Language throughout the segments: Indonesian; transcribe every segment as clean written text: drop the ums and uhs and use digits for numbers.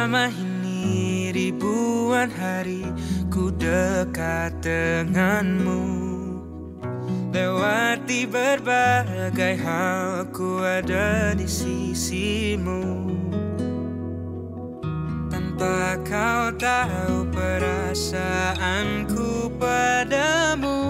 Selama ini ribuan hari ku dekat denganmu. Lewati berbagai hal ku ada di sisimu. Tanpa kau tahu perasaanku padamu.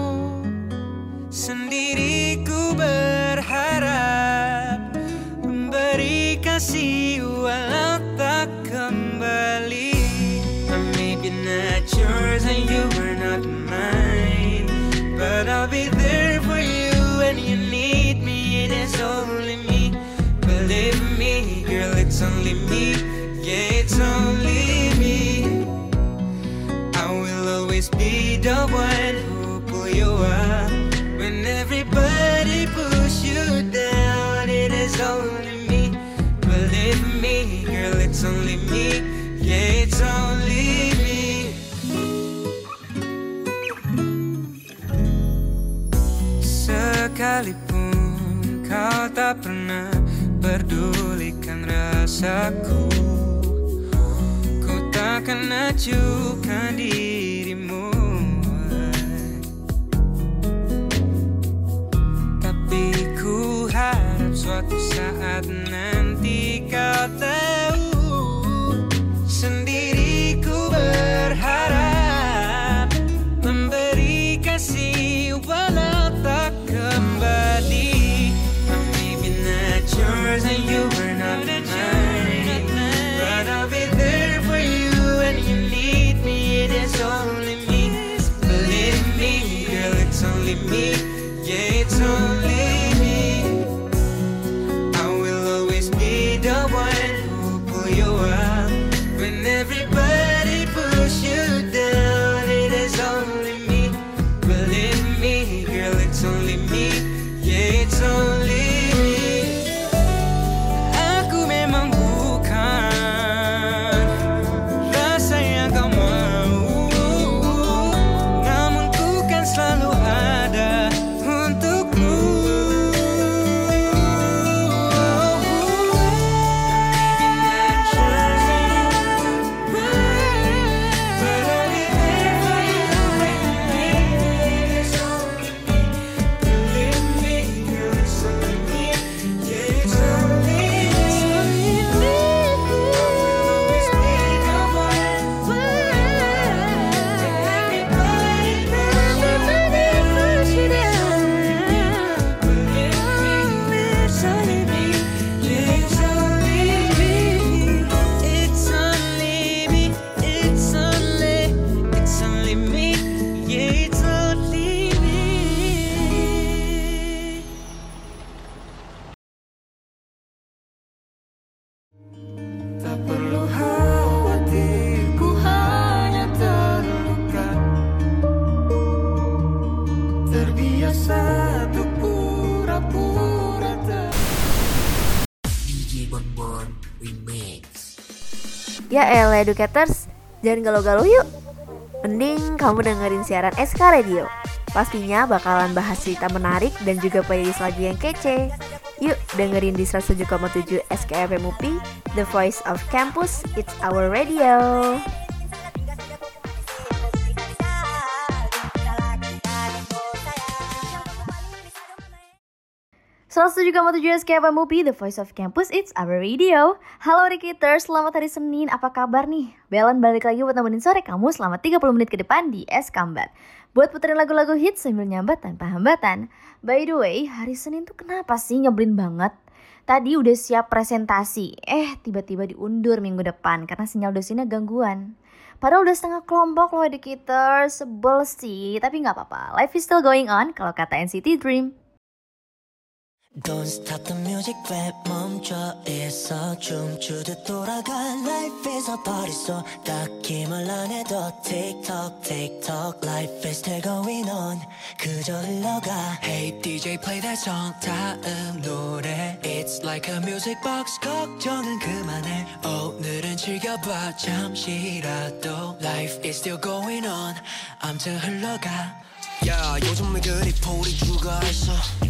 Sendiri ku berharap memberi kasih walau tak kembali. Maybe not yours and you were not mine, but I'll be there for you when you need me. It is only me, believe me, girl, it's only me. Yeah, it's only me. I will always be the one who pull you up when everybody push you down. It is only me, believe me, girl, it's only me. Yeah, it's only me. Sekalipun kau tak pernah pedulikan rasaku, ku takkan acuhkan dirimu. Tapi ku harap suatu saat nanti kau tahu. Sendiri ku berharap memberi kasih walau tak kembali. Maybe not yours and you were not mine, but I'll be there for you when you need me. It is only me, believe me, girl, it's only me. Yeah, it's only me. I will always be the one who pull you up when everybody push you down. It is only me, believe me, girl, it's only me. Yeah, it's only me. Aku memang bukan rasa yang kau mau, namun ku kan selalu ada untukmu. Tak perlu khawatir, ku hanya terluka. Terbiasa untuk pura-pura DJ Bonbon Remix. Ya elah educators, jangan galau-galau yuk. Mending kamu dengerin siaran SK Radio. Pastinya bakalan bahas cerita menarik dan juga playlist lagu yang kece. Yuk dengerin di 107,7 SKFM UPI, The Voice of Campus, it's our radio. 107,7 SKFM UPI, The Voice of Campus, it's our radio. Halo Rikiters, selamat hari Senin, apa kabar nih? Belan balik lagi buat nemenin sore kamu selama 30 menit ke depan di Eskambat. Buat puterin lagu-lagu hits sambil nyambat tanpa hambatan. By the way, hari Senin tuh kenapa sih nyebelin banget? Tadi udah siap presentasi, tiba-tiba diundur minggu depan karena sinyal dosennya gangguan. Padahal udah setengah kelompok loh Educators, sebel sih, tapi gak apa-apa. Life is still going on kalau kata NCT Dream. Don't stop the music, rap 멈춰 있어 춤추듯 돌아가 Life is a party so 딱히 말 안 해도 Tick tock, tick tock Life is still going on 그저 흘러가 Hey DJ play that song 다음 노래 It's like a music box 걱정은 그만해 오늘은 즐겨봐 잠시라도 Life is still going on 암튼 흘러가 야 요즘에 그리 풀이 죽어있어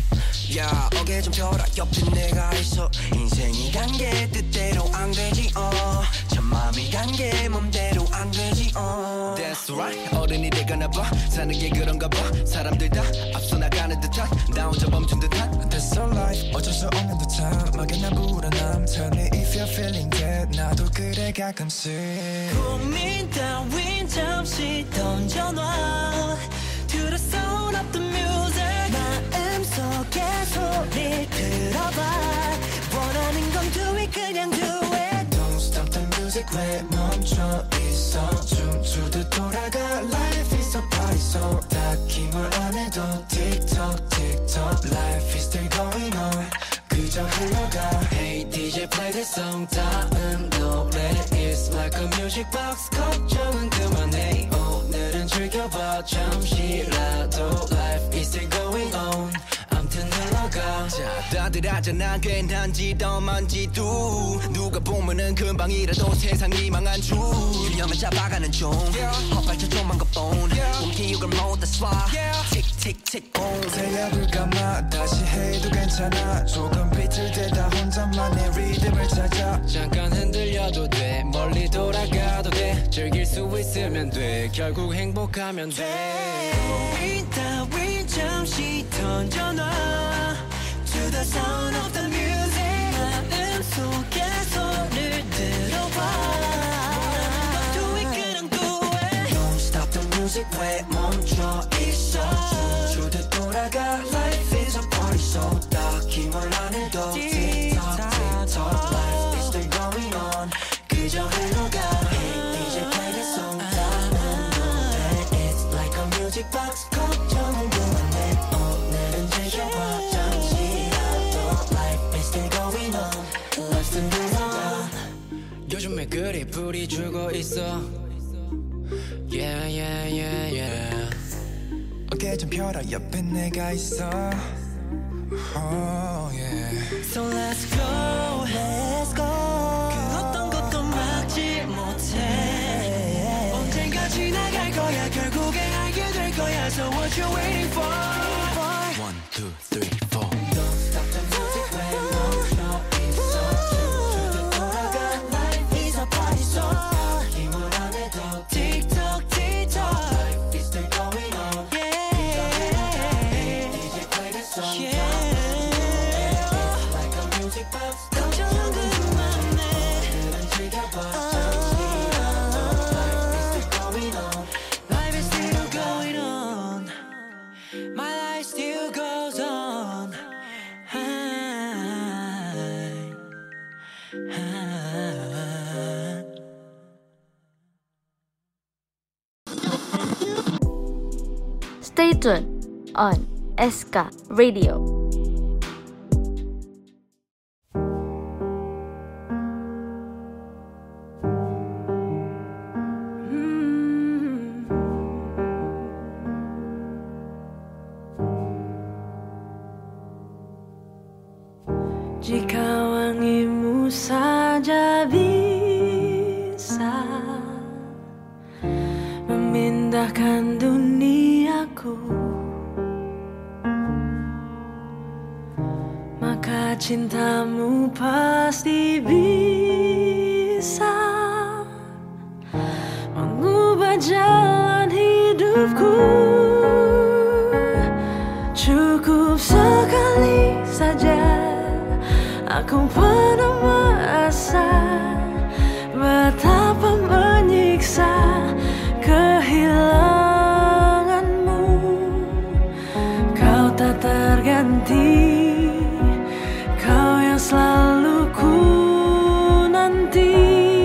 야 어깨 좀 펴라 옆에 내가 있어 인생이란 게 뜻대로 안 되지 참 맘이 간 게 맘대로 안 되지 That's right 어른이 되거나 봐 사는 게 그런가 봐 사람들 다 앞서 나가는 듯한 나 혼자 멈춘 듯한 That's so life 어쩔 수 없는 듯한 막연한 불안함 Tell me if you're feeling that 나도 그래 가끔씩 고민 따윈 잠시 던져놔 To the sound of the music 마음속에 소리 들어봐 원하는 건 do it 그냥 do it Don't stop the music 왜 멈춰 있어 춤추듯 돌아가 Life is a party so 딱히 뭘 안 해도 틱톡 틱톡 Life is still going on 그저 흘러가 Hey DJ play that song 다음 노래 It's like a music box 걱정은 그만해 오늘은 즐겨봐 잠시라도 Life is still going on 암튼 흘러가 자 다들 하잖아 괜한지 덤한지도 누가 보면은 금방이라도 세상이 망한 줄 균형을 잡아가는 중 헛발쳐 좀만 것뿐 움직이고 못 that's why 틱틱틱 boom 새벽을 감아 다시 해도 괜찮아 조금 비틀대다 혼자만의 리듬을 찾아 잠깐 흔들려도 돼 멀리 돌아가도 돼 즐길 수 있으면 돼 결국 행복하면 돼 고민 따윈 잠시 던져놔 To the sound of the music 마음속에 소리를 들어봐 Do it 그냥 do it Don't stop the music 왜 멈춰 있어 춤추듯 돌아가 Life is a party so 딱히 뭘 안 해도 틱톡 틱톡 Life is still going on 그저 흘러가 Hey DJ play this song 다음 노래 It's like a music box 걱정은 그만해 오늘은 즐겨봐 잠시라도 Life is still going on Life still going on 요즘에 그리 불이 주고 있어 Yeah yeah yeah yeah 어깨 좀 펴라 옆에 내가 있어 Oh yeah So let's go Let's go 그 어떤 것도 막지 못해 언젠가 지나갈 거야 결국에 알게 될 거야 So what you waiting for 1, 2, 3, 4 Don't stop the music 왜 멈춰 있어 춤추듯 돌아가 Life is a party so 힘을 안 해도 틱톡 틱톡 Life is still going on Yeah DJ play this song Yeah It's like a music box 걱정은 그만해 오늘은 즐겨봐 잠시라도 Life is still going on Life is still going on My life still goes on Stay tuned on SK Radio. Jika wangimu saja bisa memindahkan duniaku, maka cintamu pasti bisa mengubah jalan hidupku. Cukup sekali saja aku pernah merasa betapa menyiksa kehilanganmu. Kau tak terganti, kau yang selalu ku nanti.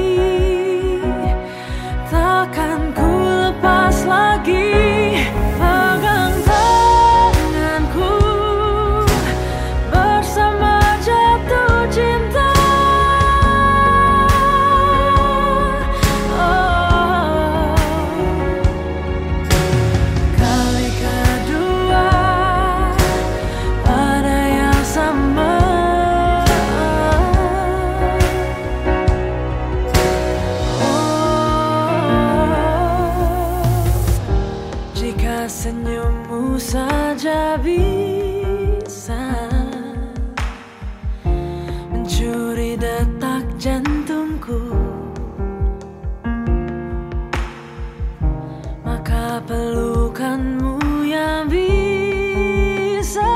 Takkan ku lepas lagi pegang tanganku bersama jatuh cinta. Oh, kali kedua pada yang sama. Oh, jika senyummu saja bisa rasa mencuri detak jantungku, maka pelukanmu yang bisa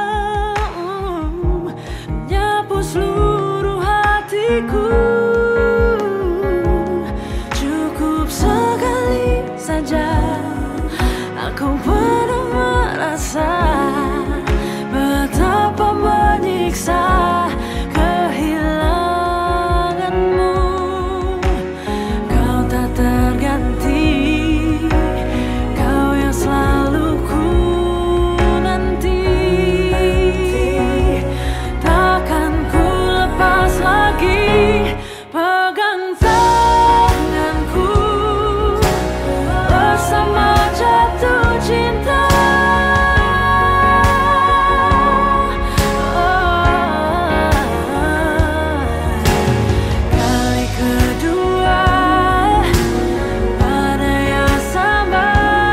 menyapu seluruh hatiku. Cukup sekali saja aku pernah merasa betapa menyiksa kehilanganmu. Kau tak terganti, kau yang selalu ku nanti. Takkan ku lepas lagi pegang tanganku bersama jatuh cinta. Kali kedua pada yang sama.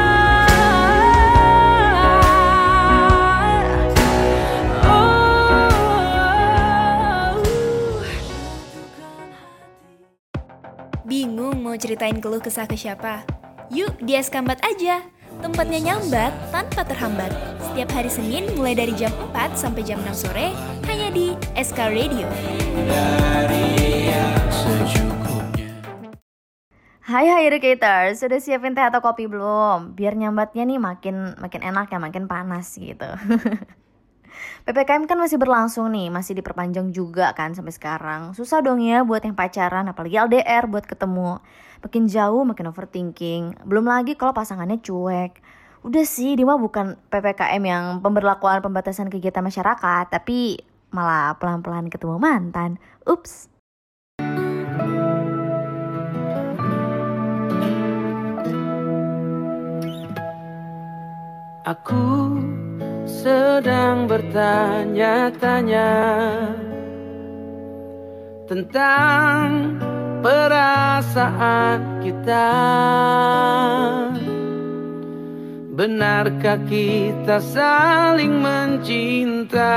Bingung mau ceritain keluh kesah ke siapa? Yuk di Eskambat aja. Tempatnya nyambat tanpa terhambat. Setiap hari Senin mulai dari jam 4 sampai jam 6 sore hanya di SK Radio. Hai educators, sudah siapin teh atau kopi belum? Biar nyambatnya nih makin enak ya, makin panas gitu. PPKM kan masih berlangsung nih, masih diperpanjang juga kan sampai sekarang. Susah dong ya buat yang pacaran, apalagi LDR buat ketemu. Makin jauh makin overthinking. Belum lagi kalau pasangannya cuek. Udah sih, dia mah bukan PPKM yang pemberlakuan pembatasan kegiatan masyarakat, tapi malah pelan-pelan ketemu mantan. Ups. Aku sedang bertanya-tanya tentang perasaan kita. Benarkah kita saling mencinta,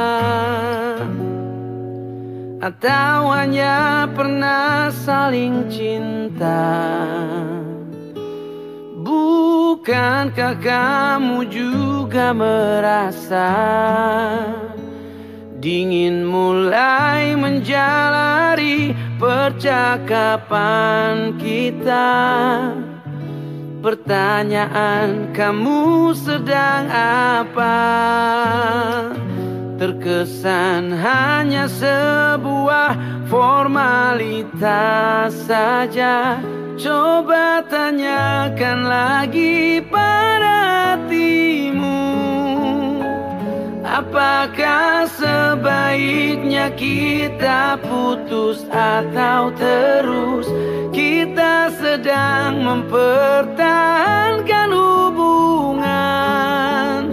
atau hanya pernah saling cinta? Bukankah kamu juga merasa dingin mulai menjalari percakapan kita? Pertanyaan, kamu sedang apa? Terkesan hanya sebuah formalitas saja. Coba tanyakan lagi pada hatimu, apakah sebaiknya kita putus atau terus? Kita sedang mempertahankan hubungan,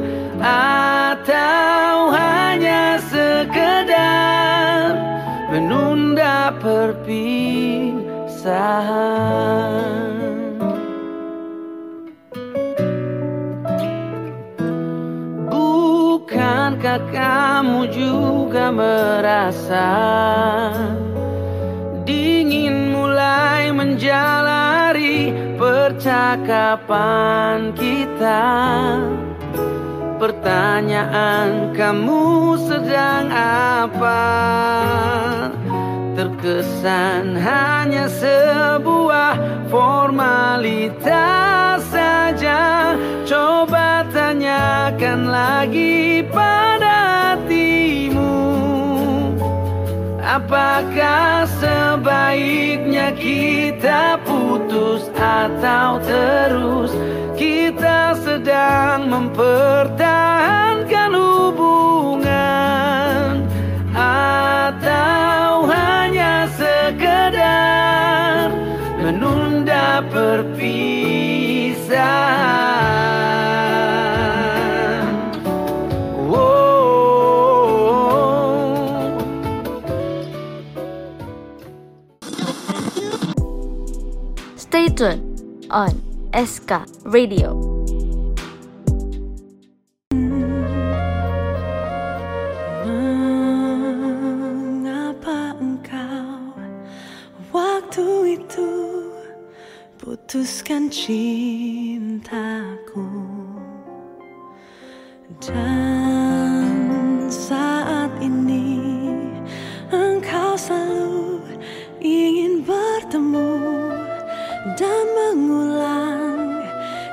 atau hanya sekedar menunda perpisahan? Bukankah kamu juga merasa dingin mulai menjalari percakapan kita? Pertanyaan, kamu sedang apa? Terkesan hanya sebuah formalitas saja. Coba tanyakan lagi pada hatimu, apakah sebaiknya kita putus atau terus? Kita sedang mempertahankan hubungan, atau hanya sekedar menunda perpisahan? Stay tuned on SK Radio. putuskan cintaku. Dan saat ini engkau selalu ingin bertemu dan mengulang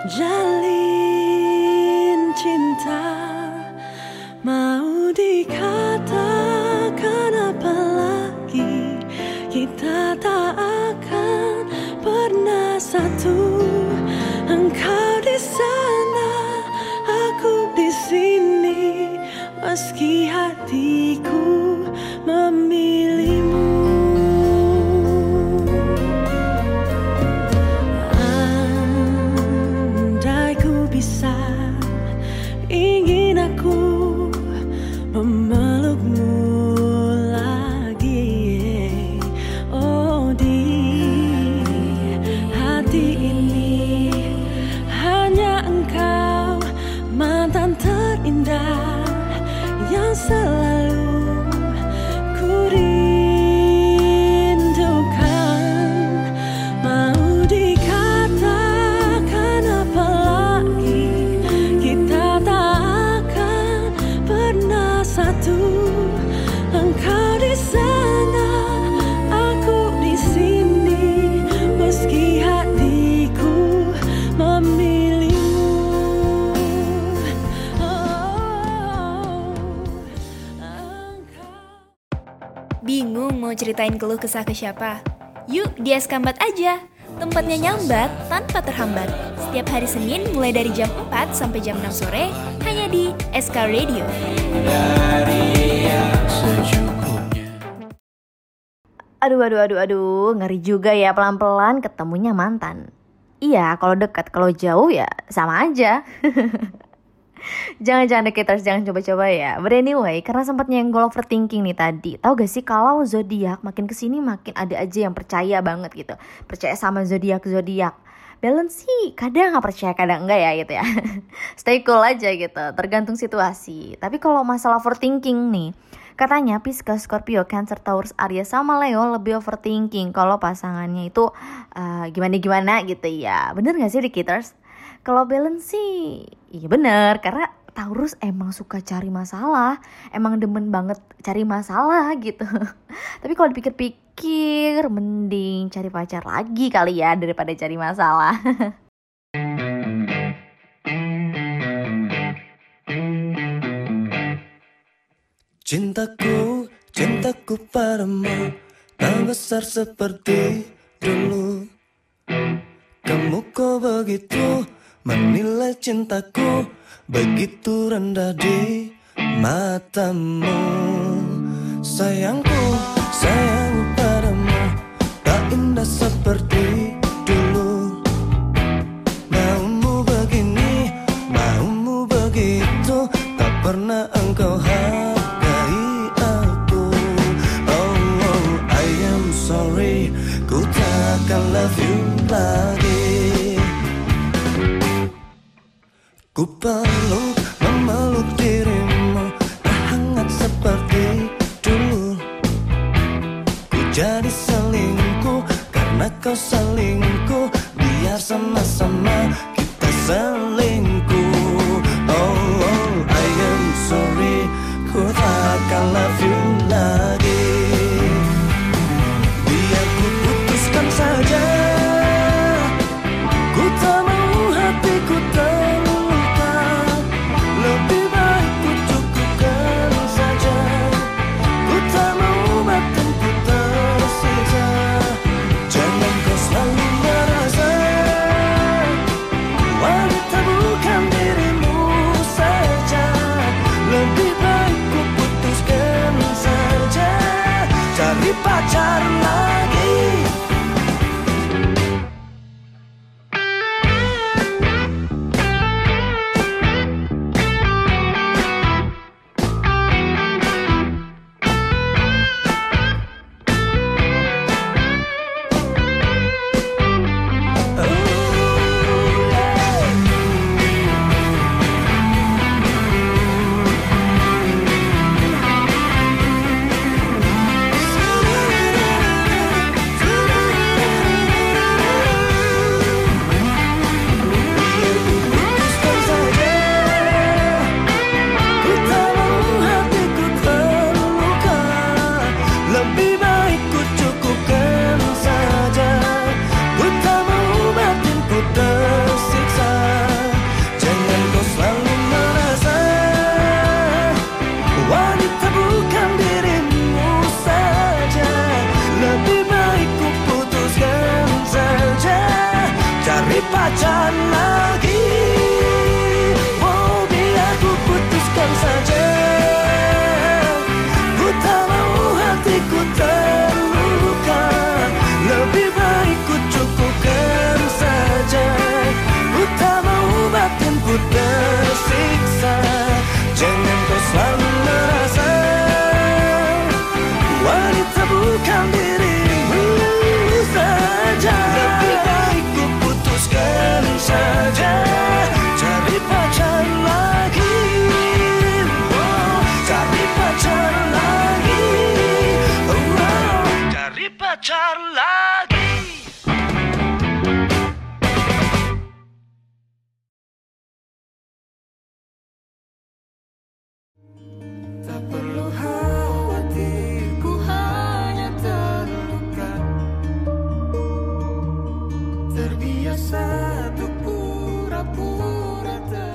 jalin cinta. Mau dikatakan apa lagi, kita tak akan pernah satu. Engkau di sana, aku di sini, meski hatiku memilihmu. Andai ku bisa, ingin aku memelukmu lagi. Oh, di hati ini hanya engkau, mantan terindah yang selalu ku rindukan. Mau dikatakan apa lagi, kita tak akan pernah satu. Engkau di sana, aku di sini, meski hatiku memilihmu. Bingung mau ceritain keluh kesah ke siapa? Yuk di Eskambat aja. Tempatnya nyambat tanpa terhambat. Setiap hari Senin mulai dari jam 4 sampai jam 6 sore hanya di SK Radio. Aduh, ngeri juga ya pelan-pelan ketemunya mantan. Iya, kalau dekat, kalau jauh ya sama aja. Jangan dekaters, jangan coba-coba ya. But anyway, karena sempat nyenggol overthinking nih tadi. Tahu gak sih kalau zodiak makin kesini makin ada aja yang percaya banget gitu. Percaya sama zodiak. Balance sih kadang nggak percaya, kadang enggak ya gitu ya. Stay cool aja gitu, tergantung situasi. Tapi kalau masalah overthinking nih, katanya Pisces, Scorpio, Cancer, Taurus, Aries sama Leo lebih overthinking kalau pasangannya itu gimana gitu ya. Bener gak sih Rikiters? Kalau balance sih iya bener, karena Taurus emang suka cari masalah, emang demen banget cari masalah gitu. Tapi kalau dipikir-pikir mending cari pacar lagi kali ya daripada cari masalah. Cintaku padamu tak besar seperti dulu. Kamu kok begitu menilai cintaku, begitu rendah di matamu. Sayangku padamu tak indah seperti dulu. Maumu begini, maumu begitu, tak pernah engkau hargai aku. Oh, I am sorry, ku takkan love you lagi. Ku memeluk dirimu, tak hangat seperti dulu. Ku jadi selingkuh karena kau selingkuh, biar sama-sama kita selingkuh. Oh, I am sorry, ku takkan love you lagi. Biar ku putuskan saja, ku tak mau hatiku terluka. Lebih baik ku cukupkan saja, ku tak mau batinku tersisa. Jangan kau selalu merasa wanita bukan pacar lagi. Tak perlu khawatir, ku hanya terluka. Terbiasa untuk pura-pura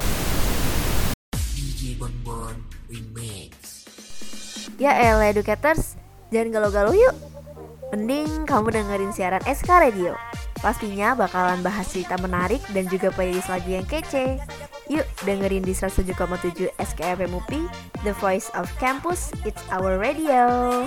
DJ Bonbon Remix. Ya elah educators, jangan galau-galau yuk. Mending kamu dengerin siaran SK Radio. Pastinya bakalan bahas cerita menarik dan juga playlist lagu yang kece. Yuk dengerin di 107,7 SKFM UPI, The Voice of Campus, It's Our Radio.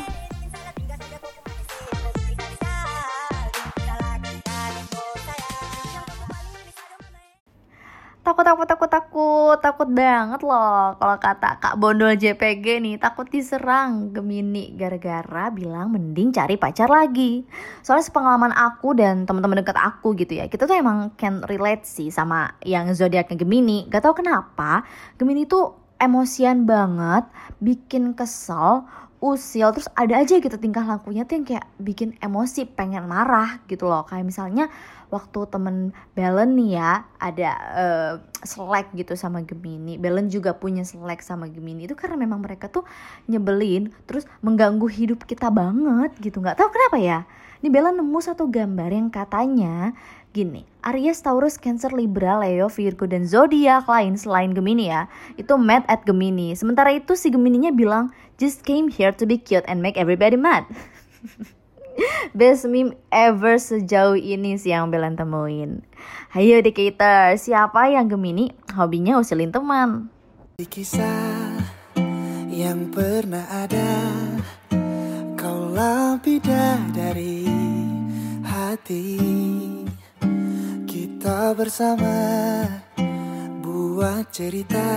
Takut banget loh kalau kata Kak Bondol JPG nih, takut diserang Gemini gara-gara bilang mending cari pacar lagi. Soalnya sepengalaman aku dan teman-teman dekat aku gitu ya, kita tuh emang can relate sih sama yang zodiaknya Gemini. Gak tau kenapa Gemini tuh emosian banget, bikin kesel, usil, terus ada aja gitu tingkah lakunya tuh yang kayak bikin emosi, pengen marah gitu loh. Kayak misalnya waktu temen Belen nih ya, ada selek gitu sama Gemini. Belen juga punya selek sama Gemini. Itu karena memang mereka tuh nyebelin, terus mengganggu hidup kita banget gitu. Gak tahu kenapa ya. Ini Belen nemu satu gambar yang katanya gini, Aries, Taurus, Cancer, Libra, Leo, Virgo, dan zodiak lain selain Gemini ya, itu mad at Gemini. Sementara itu si Gemininya bilang, just came here to be cute and make everybody mad. Best meme ever sejauh ini sih yang Belen temuin. Hayo Dedicator, siapa yang Gemini hobinya usilin teman? Di kisah yang pernah ada, kaulah bidadari hati. Kita bersama buat cerita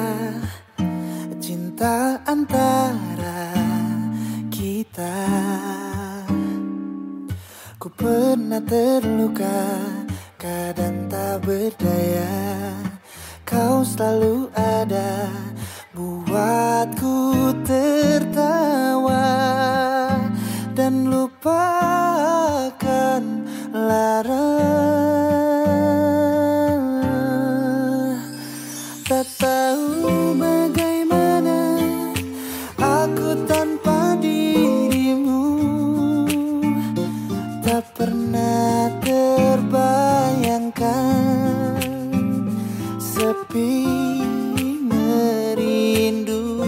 cinta antara kita. Ku pernah terluka, kadang tak berdaya. Kau selalu ada, buatku tertawa dan lupakan lara. Tak tahu bagaimana aku tanpa dirimu. Tak pernah terbayangkan sepi merindu.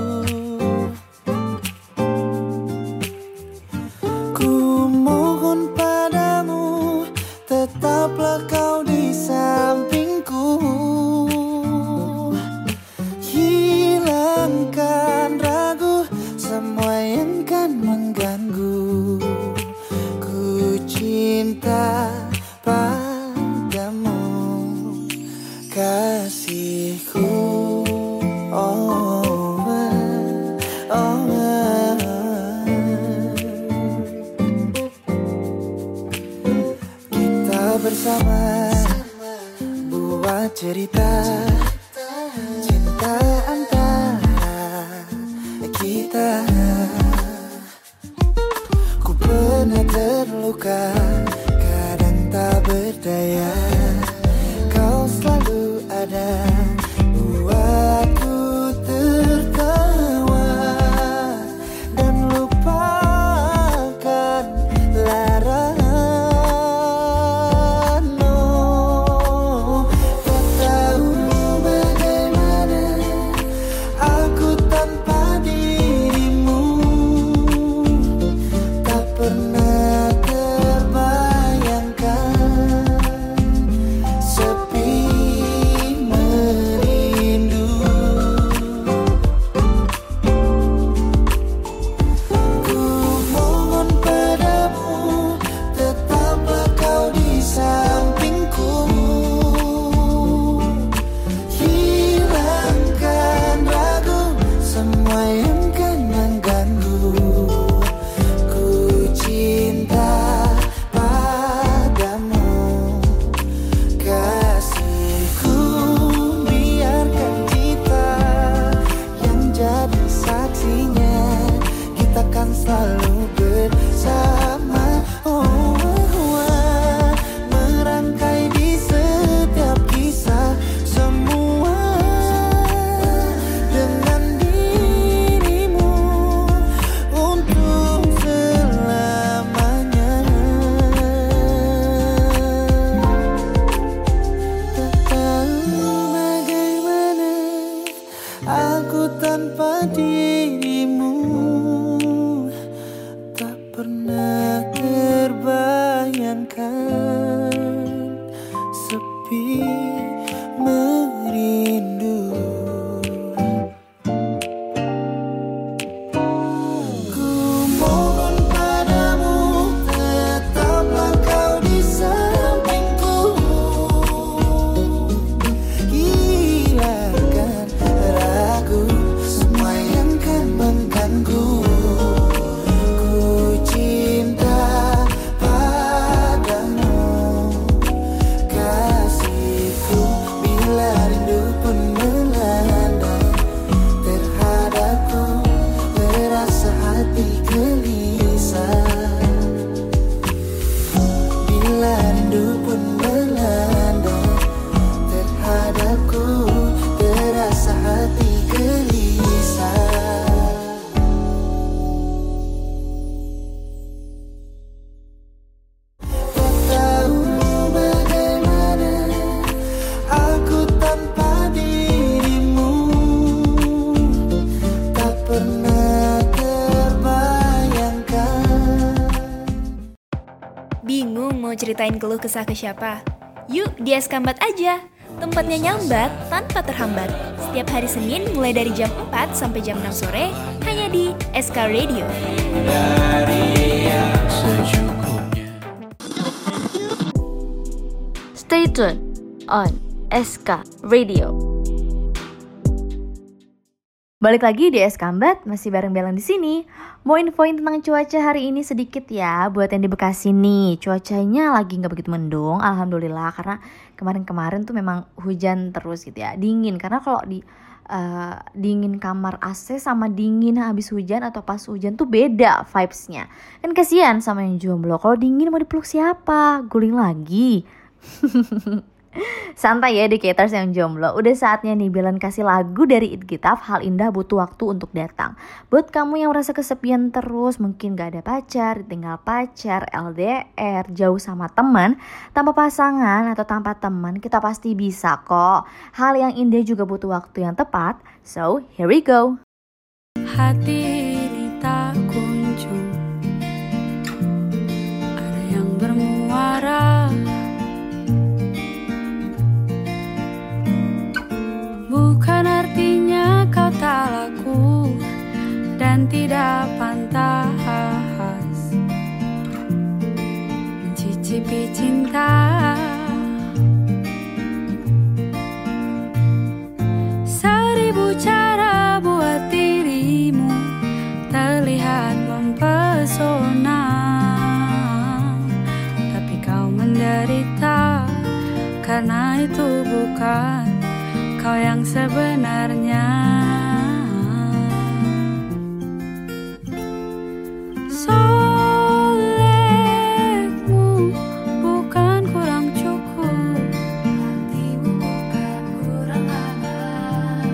Ku mohon padamu, tetaplah kau di sampingku. Hilangkan ragu, semua yang kan mengganggu. Ku cinta padamu, kasihku. Kita bersama buat cerita cinta antara kita. Ku pernah terluka, kadang tak berdaya. Kau selalu ada, buatku tertawa dan lupakan lara. No, tak tahu Aku tanpa dirimu tak pernah terbayangkan. Sepi merindu, ku mohon padamu, tetaplah kau di sampingku. Hilangkan ragu, semua yang kan mengganggu. Ku cinta padamu, kasihku, bila rindu pun melanda terhadapku, terasa hati gelisah. Bila rindu pun melanda terhadapku, terasa hati gelisah. Tak tahu bagaimana aku tanpa dirimu, tak pernah terbayangkan. Bingung mau ceritain keluh kesah ke siapa? Yuk di Eskambat aja. Tempatnya nyambat tanpa terhambat. Setiap hari Senin mulai dari jam 4 sampai jam 6 sore hanya di SK Radio. Stay tuned on SK Radio. Balik lagi di Eskambat, masih bareng Belan di sini. Mau infoin tentang cuaca hari ini sedikit ya, buat yang di Bekasi nih. Cuacanya lagi nggak begitu mendung, alhamdulillah, karena kemarin-kemarin tuh memang hujan terus gitu ya, dingin. Karena kalau di dingin kamar AC sama dingin habis hujan atau pas hujan tuh beda vibes-nya. Kan kasihan sama yang jomblo, kalau dingin mau dipeluk siapa? Guling lagi. Santai ya Dedicators yang jomblo. Udah saatnya nih Belan kasih lagu dari It Gitaf, Hal Indah Butuh Waktu Untuk Datang. Buat kamu yang merasa kesepian terus, mungkin gak ada pacar, ditinggal pacar, LDR, jauh sama teman, tanpa pasangan atau tanpa teman, kita pasti bisa kok. Hal yang indah juga butuh waktu yang tepat. So here we go. Hati ini tak kunjung ada yang bermuara. Bukan artinya kau tak laku dan tidak pantas mencicipi cinta. Seribu cara buat dirimu terlihat mempesona, tapi kau menderita karena itu bukan kau yang sebenarnya. Solehmu bukan kurang cukup, hatimu bukan kurang aman.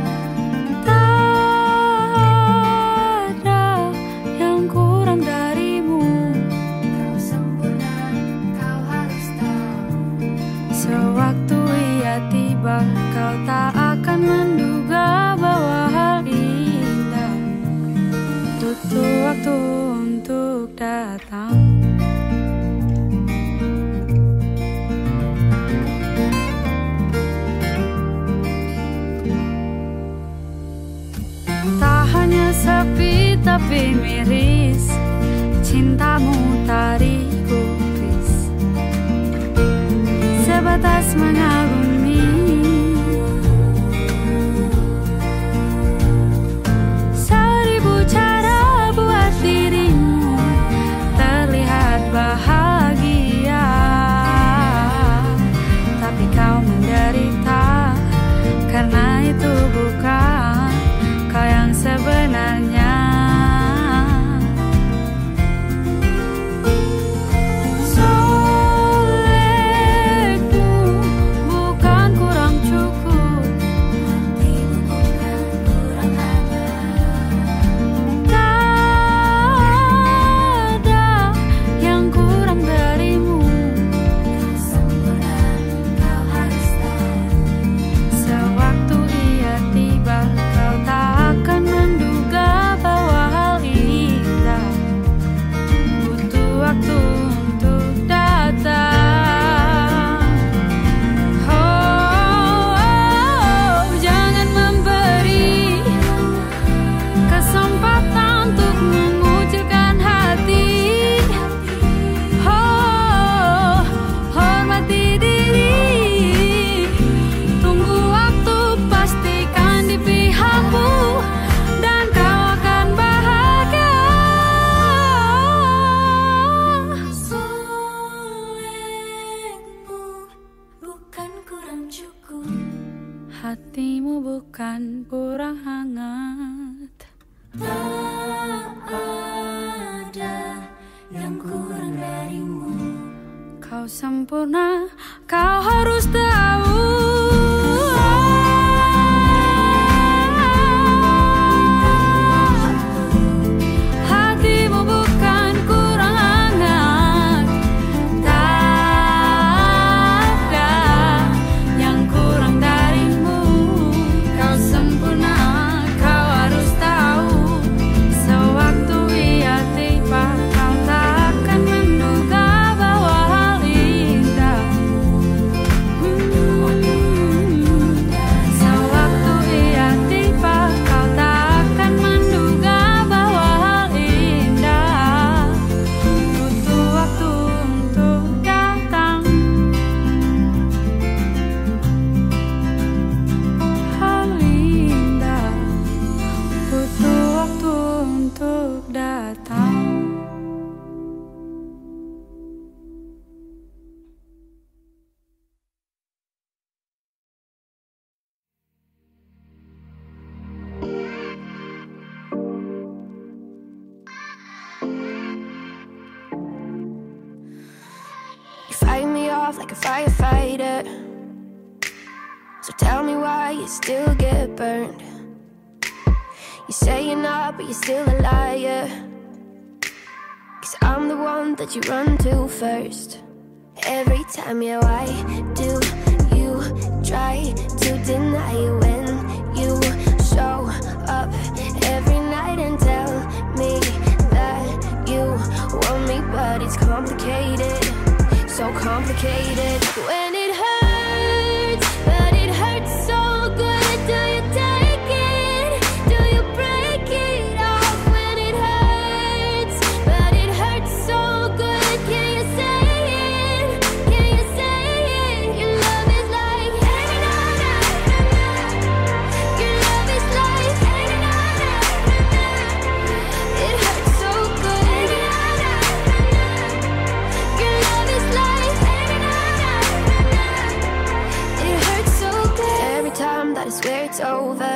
Tak ada yang kurang darimu, kau sempurna, kau harus tahu. Sewaktu ia tiba, kau tak akan menduga bahwa hal indah butuh waktu untuk datang. Tak hanya sepi tapi miris, cintamu tadi gubris, sebatas mengagumi. Seribu cara buat dirimu terlihat bahagia, tapi kau menderita karena itu bukan kau yang sebenarnya. Solehmu kurang hangat. Tak ada yang kurang darimu. Kau sempurna, kau harus tahu. Hatimu bukan kurang hangat. Tak ada yang kurang darimu. Kau sempurna, kau harus tahu. Sewaktu ia tiba, kau takkan menduga bahwa hal indah. Sewaktu ia tiba, kau takkan menduga bahwa hal indah butuh waktu untuk datang. Hal indah butuh waktu untuk datang. You fight me off like a firefighter, so tell me why you still get burned. You say you're not, but you're still a liar. 'Cause I'm the one that you run to first. Every time, yeah, why do you try to deny it when you show up every night and tell me that you want me, but it's complicated, so complicated. When it hurts, but it hurts so good. Do you take it? Do you break it off? When it hurts, but it hurts so good. Can you say it? Can you say it? Your love is like your love is like it hurts so good. Your love is like it hurts so good. Every time that I swear it's over,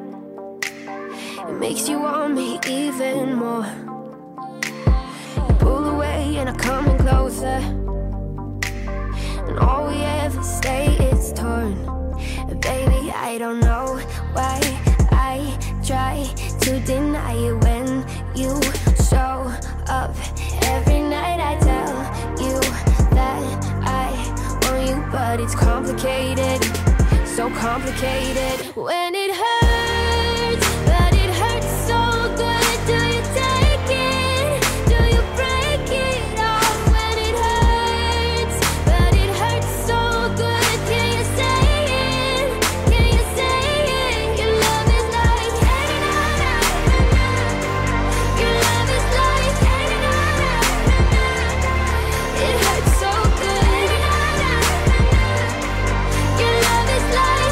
it makes you want me even more. You pull away and I come in closer, and all we ever stay is torn. And baby, I don't know why I try to deny it when you show up every night. I tell you that I want you, but it's complicated, so complicated. When it hurts, but it hurts so good. Do you take it? Do you break it off? When it hurts, but it hurts so good. Can you say it? Can you say it? Your love is like your love is like it hurts so good. Your love is like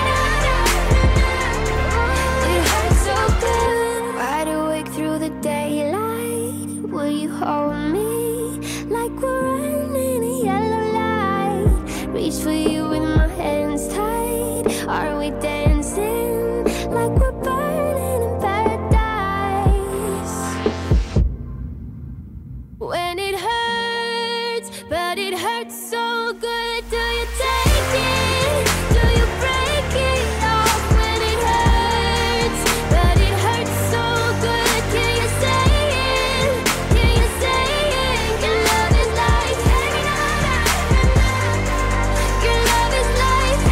it hurts so good. Wide awake through the daylight, will you hold me like we're running a yellow light? Reach for you with my hands tied. Are we dancing like we're burning in paradise? When it hurts, but it hurts so good. Do you take it? Do you break it off? When it hurts, but it hurts so good. Can you say it? Can you say it? Your love is like your love is like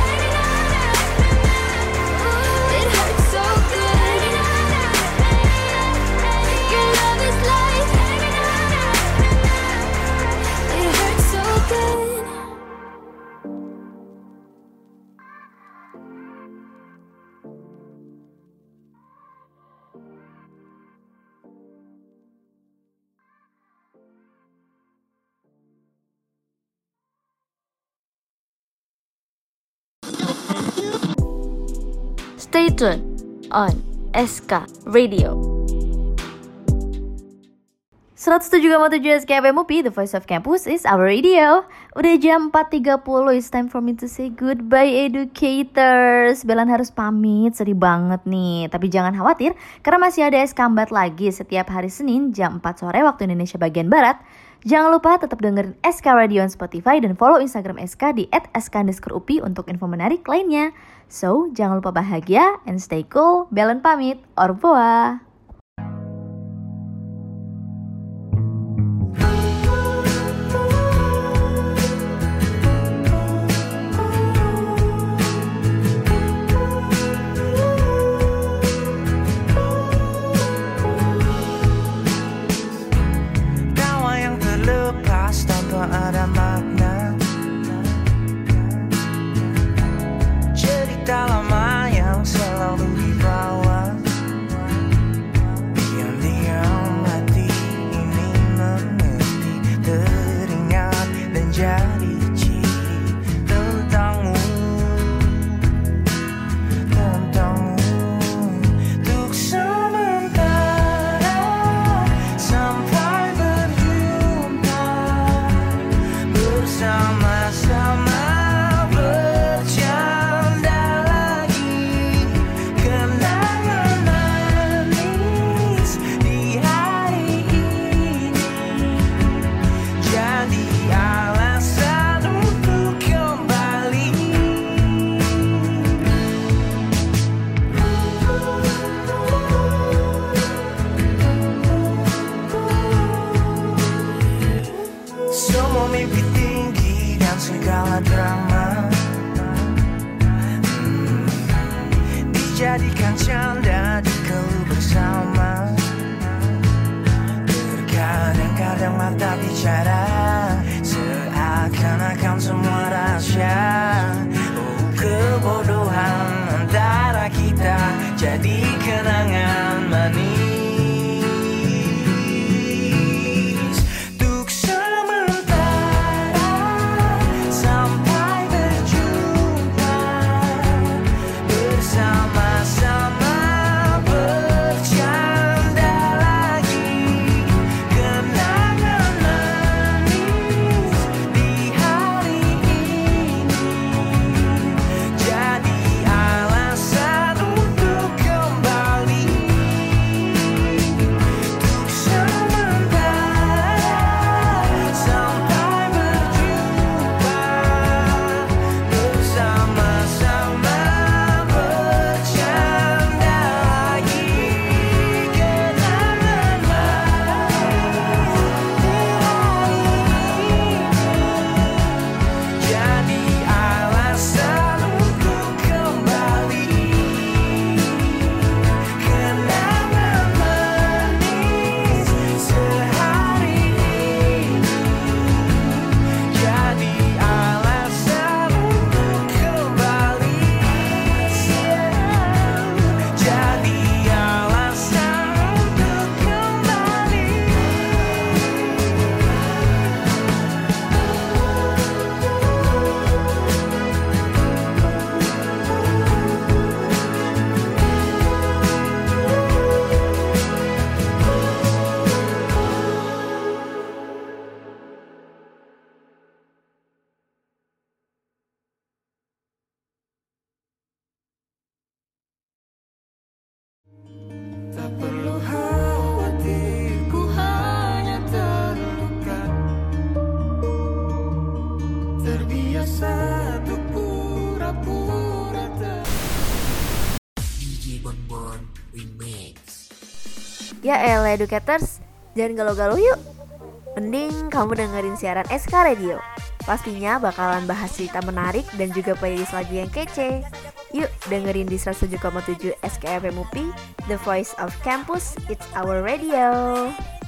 it hurts so good. Your love is like it hurts so good. Stay tuned on SK Radio. 107,7 SKFM UPI, The Voice of Campus is our radio. Udah jam 4.30, it's time for me to say goodbye educators. Belan harus pamit, sedih banget nih. Tapi jangan khawatir, karena masih ada Eskambat lagi setiap hari Senin jam 4 sore waktu Indonesia bagian Barat. Jangan lupa tetap dengerin SK Radio on Spotify dan follow Instagram SK di @sk_upi untuk info menarik lainnya. So, jangan lupa bahagia and stay cool. Belan pamit, au revoir. Ada makna cerita lama yang selalu dibawa. Diam-diam hati ini mengerti, teringat dan jadi ciri tentangmu, untuk sementara sampai sama-sama bercanda lagi, kenangan manis di hari ini jadi alasan untuk kembali. Semua mimpi segala drama dijadikan canda di keluh bersama. Terkadang-kadang mata bicara seakan-akan semua rahasia. Oh, kebodohan antara kita jadi kenangan manis. Ya elah educators, jangan galau-galau yuk. Mending kamu dengerin siaran SK Radio. Pastinya bakalan bahas cerita menarik dan juga playlist lagu yang kece. Yuk dengerin di 107,7 SKFM UPI, The Voice of Campus, it's our radio.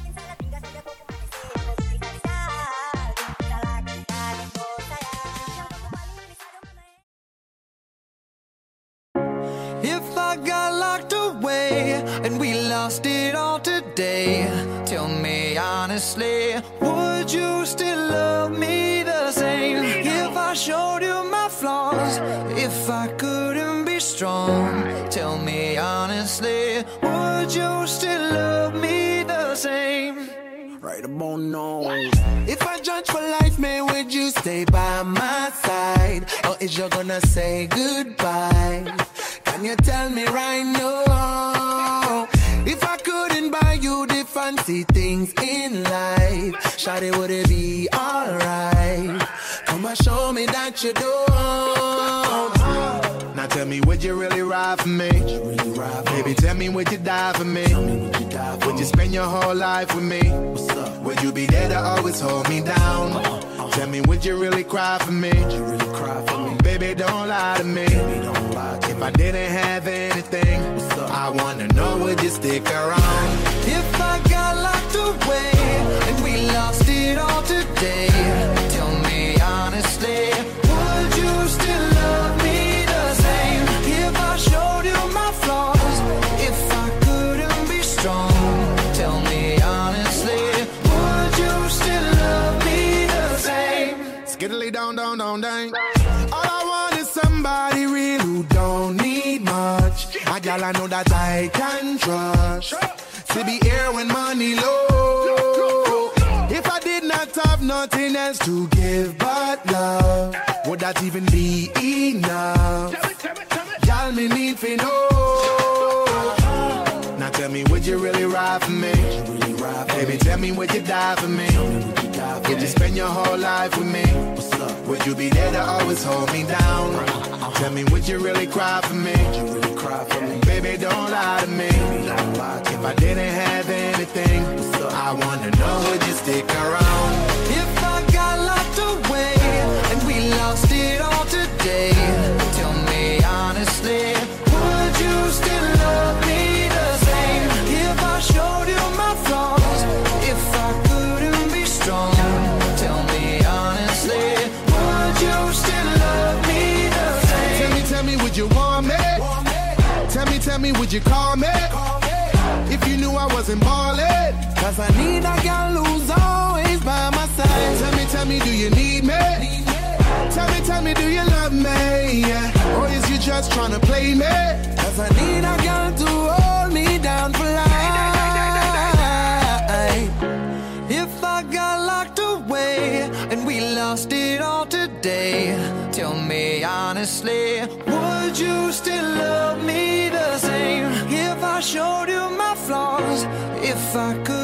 If I got locked away and we lost it all today, tell me honestly, would you still love me the same? If I showed you my flaws, if I couldn't be strong, tell me honestly, would you still love me the same? right about now. If I judge for life, man, would you stay by my side? Or is you gonna say goodbye? Can you tell me right now? If I couldn't buy you the fancy things in life, shawty, would it be alright? Come and show me that you don't. Now tell me, would you really ride for me? Baby, tell me, would you die for me? Would you spend your whole life with me? Would you be there to always hold me down? Tell me, would you really cry for me? Baby, don't lie to me. If I didn't have anything, I wanna know, would you stick around? If I got locked away and we lost it all today, tell me honestly, would you still love me the same? If I showed you my flaws, if I couldn't be strong, tell me honestly, would you still love me the same? Skiddly down, down, down, down. All I want is somebody real who don't need much. A gal I know that I can trust, to be here when money low. If I did not have nothing else to give but love, would that even be enough? Y'all me need to know. Now tell me, would you really ride for me? Baby, tell me, would you die for me? Would you spend your whole life with me? Would you be there to always hold me down? Tell me, would you really cry for me? Baby, don't lie to me. If I didn't have anything, I wanna know, would you stick around? If I got locked away and we lost it all today, tell me honestly, would you still love me the same? If I showed you my flaws, if I couldn't be strong, tell me honestly, would you still love me the same? Tell me, would you want me? Tell me, would you call me? If you knew I wasn't ballin', cause I need a girl who's always by my side. Tell me, do you need me? Tell me, do you love me? Or is you just tryna play me? Cause I need a girl to hold me down for life. If I got locked away and we lost it all today, tell me honestly, would you still love me the same? If I showed you my flaws, if I could